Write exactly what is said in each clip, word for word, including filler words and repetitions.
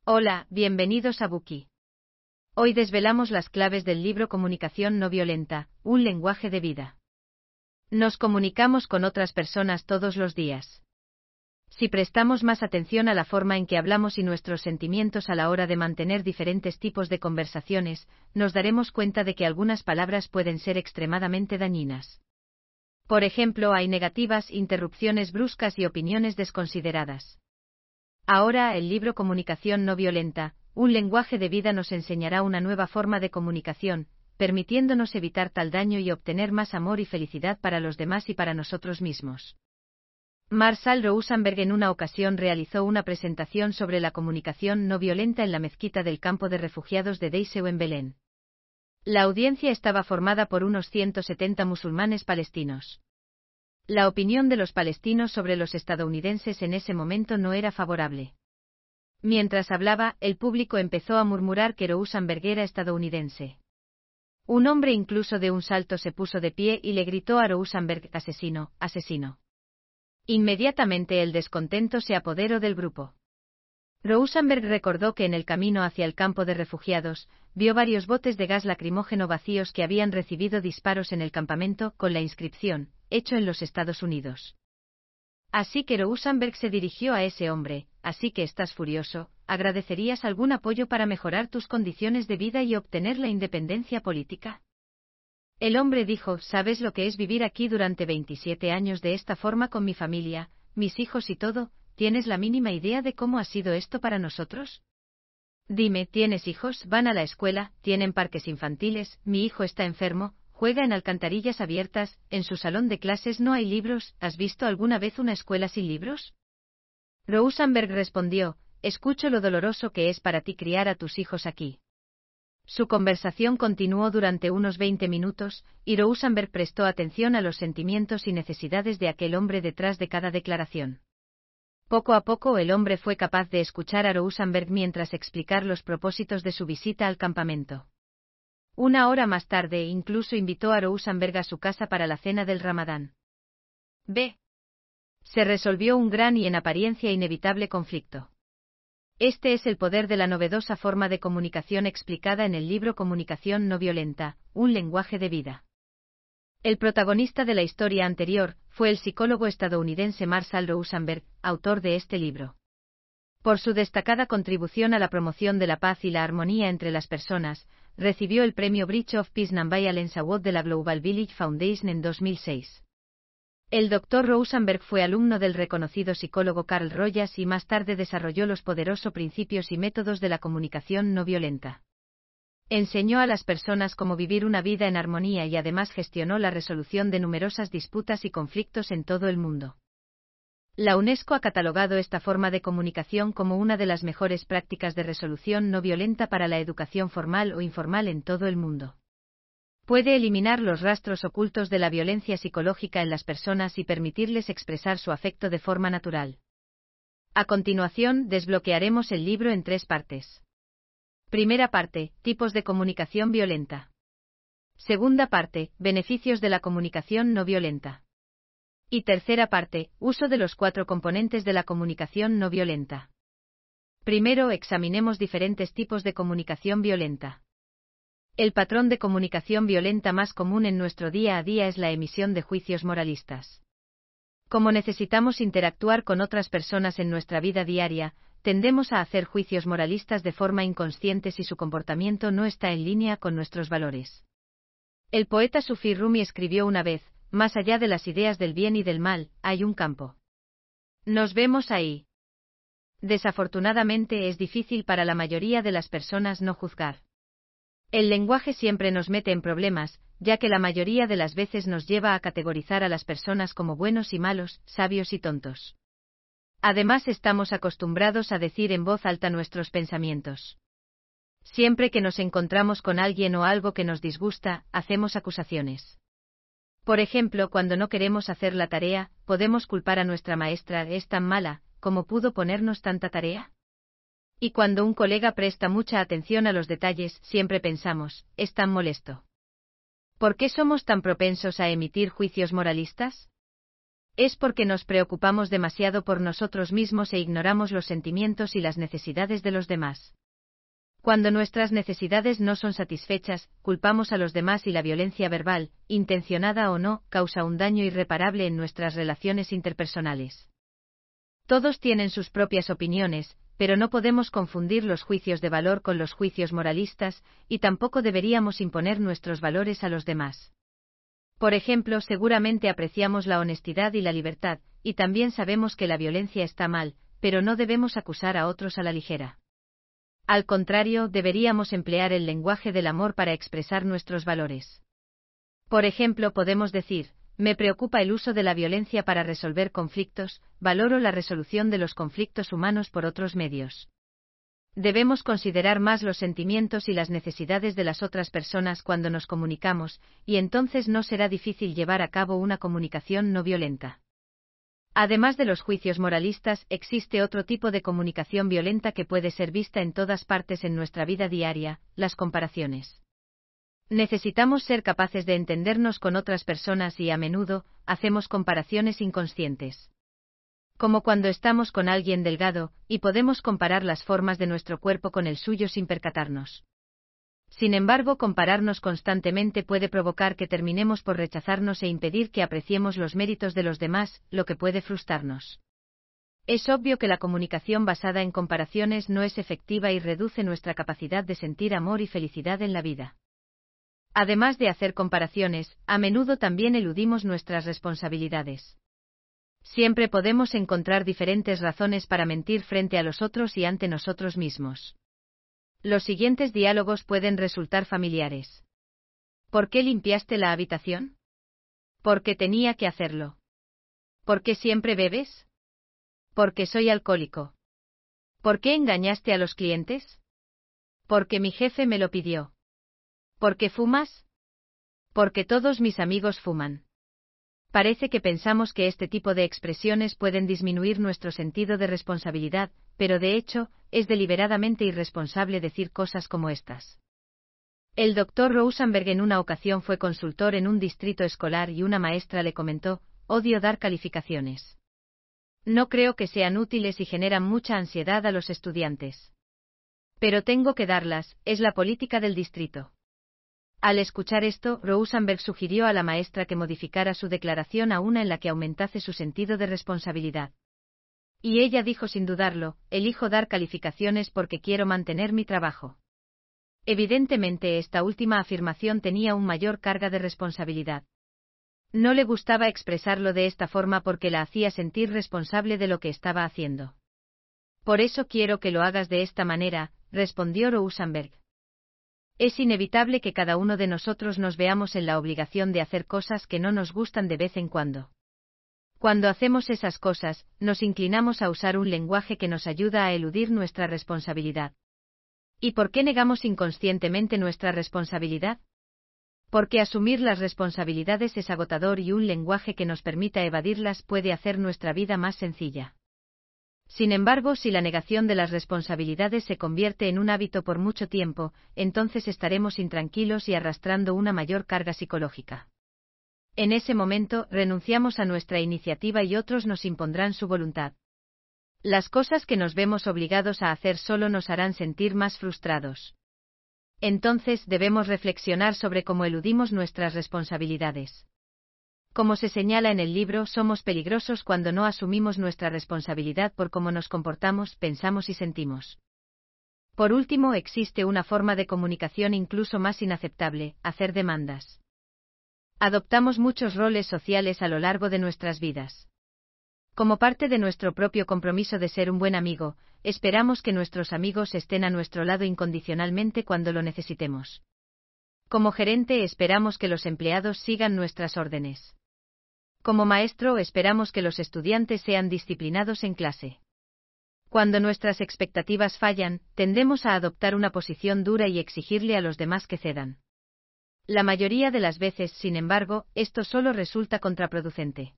Hola, bienvenidos a Bookey. Hoy desvelamos las claves del libro Comunicación no violenta, un lenguaje de vida. Nos comunicamos con otras personas todos los días. Si prestamos más atención a la forma en que hablamos y nuestros sentimientos a la hora de mantener diferentes tipos de conversaciones, nos daremos cuenta de que algunas palabras pueden ser extremadamente dañinas. Por ejemplo, hay negativas, interrupciones bruscas y opiniones desconsideradas. Ahora, el libro Comunicación no violenta, un lenguaje de vida nos enseñará una nueva forma de comunicación, permitiéndonos evitar tal daño y obtener más amor y felicidad para los demás y para nosotros mismos. Marshall Rosenberg en una ocasión realizó una presentación sobre la comunicación no violenta en la mezquita del campo de refugiados de Deiseu en Belén. La audiencia estaba formada por unos ciento setenta musulmanes palestinos. La opinión de los palestinos sobre los estadounidenses en ese momento no era favorable. Mientras hablaba, el público empezó a murmurar que Rosenberg era estadounidense. Un hombre incluso de un salto se puso de pie y le gritó a Rosenberg: asesino, asesino. Inmediatamente el descontento se apoderó del grupo. Rosenberg recordó que en el camino hacia el campo de refugiados, vio varios botes de gas lacrimógeno vacíos que habían recibido disparos en el campamento, con la inscripción, hecho en los Estados Unidos. Así que Rosenberg se dirigió a ese hombre: así que estás furioso, ¿agradecerías algún apoyo para mejorar tus condiciones de vida y obtener la independencia política? El hombre dijo: ¿sabes lo que es vivir aquí durante veintisiete años de esta forma con mi familia, mis hijos y todo? ¿Tienes la mínima idea de cómo ha sido esto para nosotros? Dime, ¿tienes hijos? ¿Van a la escuela? ¿Tienen parques infantiles? Mi hijo está enfermo, juega en alcantarillas abiertas, en su salón de clases no hay libros. ¿Has visto alguna vez una escuela sin libros? Rosenberg respondió: escucho lo doloroso que es para ti criar a tus hijos aquí. Su conversación continuó durante unos veinte minutos, y Rosenberg prestó atención a los sentimientos y necesidades de aquel hombre detrás de cada declaración. Poco a poco el hombre fue capaz de escuchar a Rosenberg mientras explicar los propósitos de su visita al campamento. Una hora más tarde incluso invitó a Rosenberg a su casa para la cena del Ramadán. B. Se resolvió un gran y en apariencia inevitable conflicto. Este es el poder de la novedosa forma de comunicación explicada en el libro Comunicación no violenta, un lenguaje de vida. El protagonista de la historia anterior fue el psicólogo estadounidense Marshall Rosenberg, autor de este libro. Por su destacada contribución a la promoción de la paz y la armonía entre las personas, recibió el premio Bridge of Peace Nonviolence Award de la Global Village Foundation en dos mil seis. El doctor Rosenberg fue alumno del reconocido psicólogo Carl Rogers y más tarde desarrolló los poderosos principios y métodos de la comunicación no violenta. Enseñó a las personas cómo vivir una vida en armonía y además gestionó la resolución de numerosas disputas y conflictos en todo el mundo. La UNESCO ha catalogado esta forma de comunicación como una de las mejores prácticas de resolución no violenta para la educación formal o informal en todo el mundo. Puede eliminar los rastros ocultos de la violencia psicológica en las personas y permitirles expresar su afecto de forma natural. A continuación, desbloquearemos el libro en tres partes. Primera parte: tipos de comunicación violenta. Segunda parte: beneficios de la comunicación no violenta. Y tercera parte: uso de los cuatro componentes de la comunicación no violenta. Primero, examinemos diferentes tipos de comunicación violenta. El patrón de comunicación violenta más común en nuestro día a día es la emisión de juicios moralistas. Como necesitamos interactuar con otras personas en nuestra vida diaria, tendemos a hacer juicios moralistas de forma inconsciente si su comportamiento no está en línea con nuestros valores. El poeta sufí Rumi escribió una vez: más allá de las ideas del bien y del mal, hay un campo. Nos vemos ahí. Desafortunadamente es difícil para la mayoría de las personas no juzgar. El lenguaje siempre nos mete en problemas, ya que la mayoría de las veces nos lleva a categorizar a las personas como buenos y malos, sabios y tontos. Además estamos acostumbrados a decir en voz alta nuestros pensamientos. Siempre que nos encontramos con alguien o algo que nos disgusta, hacemos acusaciones. Por ejemplo, cuando no queremos hacer la tarea, podemos culpar a nuestra maestra: ¿es tan mala, como pudo ponernos tanta tarea? Y cuando un colega presta mucha atención a los detalles, siempre pensamos: es tan molesto. ¿Por qué somos tan propensos a emitir juicios moralistas? Es porque nos preocupamos demasiado por nosotros mismos e ignoramos los sentimientos y las necesidades de los demás. Cuando nuestras necesidades no son satisfechas, culpamos a los demás y la violencia verbal, intencionada o no, causa un daño irreparable en nuestras relaciones interpersonales. Todos tienen sus propias opiniones, pero no podemos confundir los juicios de valor con los juicios moralistas, y tampoco deberíamos imponer nuestros valores a los demás. Por ejemplo, seguramente apreciamos la honestidad y la libertad, y también sabemos que la violencia está mal, pero no debemos acusar a otros a la ligera. Al contrario, deberíamos emplear el lenguaje del amor para expresar nuestros valores. Por ejemplo, podemos decir: me preocupa el uso de la violencia para resolver conflictos, valoro la resolución de los conflictos humanos por otros medios. Debemos considerar más los sentimientos y las necesidades de las otras personas cuando nos comunicamos, y entonces no será difícil llevar a cabo una comunicación no violenta. Además de los juicios moralistas, existe otro tipo de comunicación violenta que puede ser vista en todas partes en nuestra vida diaria: las comparaciones. Necesitamos ser capaces de entendernos con otras personas y, a menudo, hacemos comparaciones inconscientes. Como cuando estamos con alguien delgado, y podemos comparar las formas de nuestro cuerpo con el suyo sin percatarnos. Sin embargo, compararnos constantemente puede provocar que terminemos por rechazarnos e impedir que apreciemos los méritos de los demás, lo que puede frustrarnos. Es obvio que la comunicación basada en comparaciones no es efectiva y reduce nuestra capacidad de sentir amor y felicidad en la vida. Además de hacer comparaciones, a menudo también eludimos nuestras responsabilidades. Siempre podemos encontrar diferentes razones para mentir frente a los otros y ante nosotros mismos. Los siguientes diálogos pueden resultar familiares. ¿Por qué limpiaste la habitación? Porque tenía que hacerlo. ¿Por qué siempre bebes? Porque soy alcohólico. ¿Por qué engañaste a los clientes? Porque mi jefe me lo pidió. ¿Por qué fumas? Porque todos mis amigos fuman. Parece que pensamos que este tipo de expresiones pueden disminuir nuestro sentido de responsabilidad, pero de hecho, es deliberadamente irresponsable decir cosas como estas. El doctor Rosenberg en una ocasión fue consultor en un distrito escolar y una maestra le comentó: odio dar calificaciones. No creo que sean útiles y generan mucha ansiedad a los estudiantes. Pero tengo que darlas, es la política del distrito. Al escuchar esto, Rosenberg sugirió a la maestra que modificara su declaración a una en la que aumentase su sentido de responsabilidad. Y ella dijo sin dudarlo: elijo dar calificaciones porque quiero mantener mi trabajo. Evidentemente esta última afirmación tenía una mayor carga de responsabilidad. No le gustaba expresarlo de esta forma porque la hacía sentir responsable de lo que estaba haciendo. Por eso quiero que lo hagas de esta manera, respondió Rosenberg. Es inevitable que cada uno de nosotros nos veamos en la obligación de hacer cosas que no nos gustan de vez en cuando. Cuando hacemos esas cosas, nos inclinamos a usar un lenguaje que nos ayuda a eludir nuestra responsabilidad. ¿Y por qué negamos inconscientemente nuestra responsabilidad? Porque asumir las responsabilidades es agotador y un lenguaje que nos permita evadirlas puede hacer nuestra vida más sencilla. Sin embargo, si la negación de las responsabilidades se convierte en un hábito por mucho tiempo, entonces estaremos intranquilos y arrastrando una mayor carga psicológica. En ese momento, renunciamos a nuestra iniciativa y otros nos impondrán su voluntad. Las cosas que nos vemos obligados a hacer solo nos harán sentir más frustrados. Entonces debemos reflexionar sobre cómo eludimos nuestras responsabilidades. Como se señala en el libro, somos peligrosos cuando no asumimos nuestra responsabilidad por cómo nos comportamos, pensamos y sentimos. Por último, existe una forma de comunicación incluso más inaceptable: hacer demandas. Adoptamos muchos roles sociales a lo largo de nuestras vidas. Como parte de nuestro propio compromiso de ser un buen amigo, esperamos que nuestros amigos estén a nuestro lado incondicionalmente cuando lo necesitemos. Como gerente, esperamos que los empleados sigan nuestras órdenes. Como maestro, esperamos que los estudiantes sean disciplinados en clase. Cuando nuestras expectativas fallan, tendemos a adoptar una posición dura y exigirle a los demás que cedan. La mayoría de las veces, sin embargo, esto solo resulta contraproducente.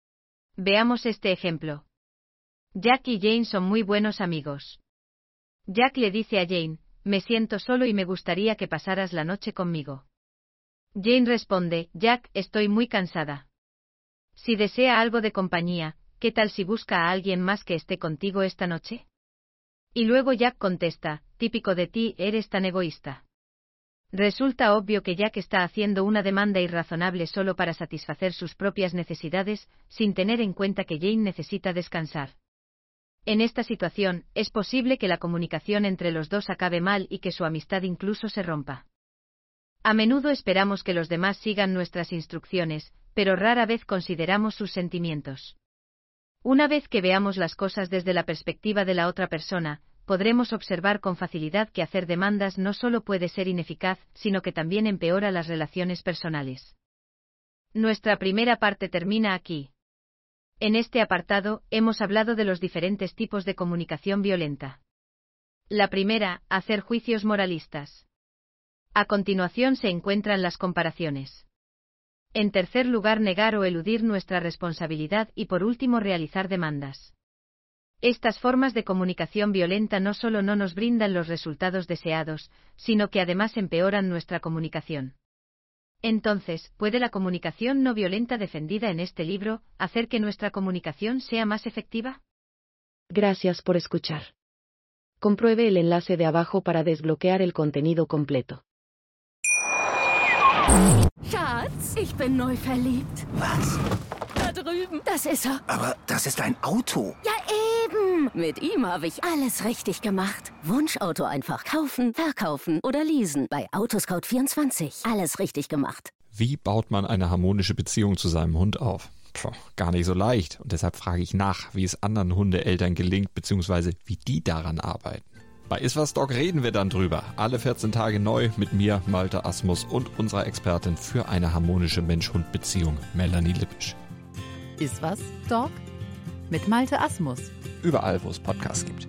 Veamos este ejemplo. Jack y Jane son muy buenos amigos. Jack le dice a Jane: me siento solo y me gustaría que pasaras la noche conmigo. Jane responde: Jack, estoy muy cansada. Si desea algo de compañía, ¿qué tal si busca a alguien más que esté contigo esta noche? Y luego Jack contesta, típico de ti, eres tan egoísta. Resulta obvio que Jack está haciendo una demanda irrazonable solo para satisfacer sus propias necesidades, sin tener en cuenta que Jane necesita descansar. En esta situación, es posible que la comunicación entre los dos acabe mal y que su amistad incluso se rompa. A menudo esperamos que los demás sigan nuestras instrucciones, pero rara vez consideramos sus sentimientos. Una vez que veamos las cosas desde la perspectiva de la otra persona, podremos observar con facilidad que hacer demandas no solo puede ser ineficaz, sino que también empeora las relaciones personales. Nuestra primera parte termina aquí. En este apartado, hemos hablado de los diferentes tipos de comunicación violenta. La primera, hacer juicios moralistas. A continuación se encuentran las comparaciones. En tercer lugar, negar o eludir nuestra responsabilidad y por último realizar demandas. Estas formas de comunicación violenta no solo no nos brindan los resultados deseados, sino que además empeoran nuestra comunicación. Entonces, ¿puede la comunicación no violenta defendida en este libro hacer que nuestra comunicación sea más efectiva? Gracias por escuchar. Compruebe el enlace de abajo para desbloquear el contenido completo. Schatz, ich bin neu verliebt. Was? Da drüben. Das ist er. Aber das ist ein Auto. Ja, eben. Mit ihm habe ich alles richtig gemacht. Wunschauto einfach kaufen, verkaufen oder leasen. Bei Autoscout vierundzwanzig. Alles richtig gemacht. Wie baut man eine harmonische Beziehung zu seinem Hund auf? Puh, gar nicht so leicht. Und deshalb frage ich nach, wie es anderen Hundeeltern gelingt, beziehungsweise wie die daran arbeiten. Bei Iswas Dog reden wir dann drüber. Alle vierzehn Tage neu mit mir, Malte Asmus und unserer Expertin für eine harmonische Mensch-Hund-Beziehung, Melanie Lippisch. Iswas Dog mit Malte Asmus. Überall, wo es Podcasts gibt.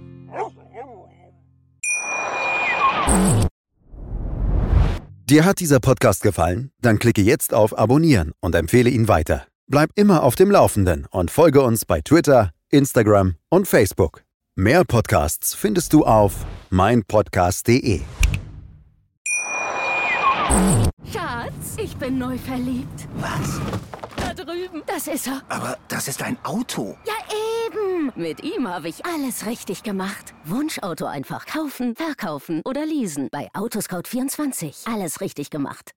Dir hat dieser Podcast gefallen? Dann klicke jetzt auf Abonnieren und empfehle ihn weiter. Bleib immer auf dem Laufenden und folge uns bei Twitter, Instagram und Facebook. Mehr Podcasts findest du auf meinpodcast punkt de. Schatz, ich bin neu verliebt. Was? Da drüben. Das ist er. Aber das ist ein Auto. Ja, eben. Mit ihm habe ich alles richtig gemacht. Wunschauto einfach kaufen, verkaufen oder leasen. Bei Autoscout vierundzwanzig. Alles richtig gemacht.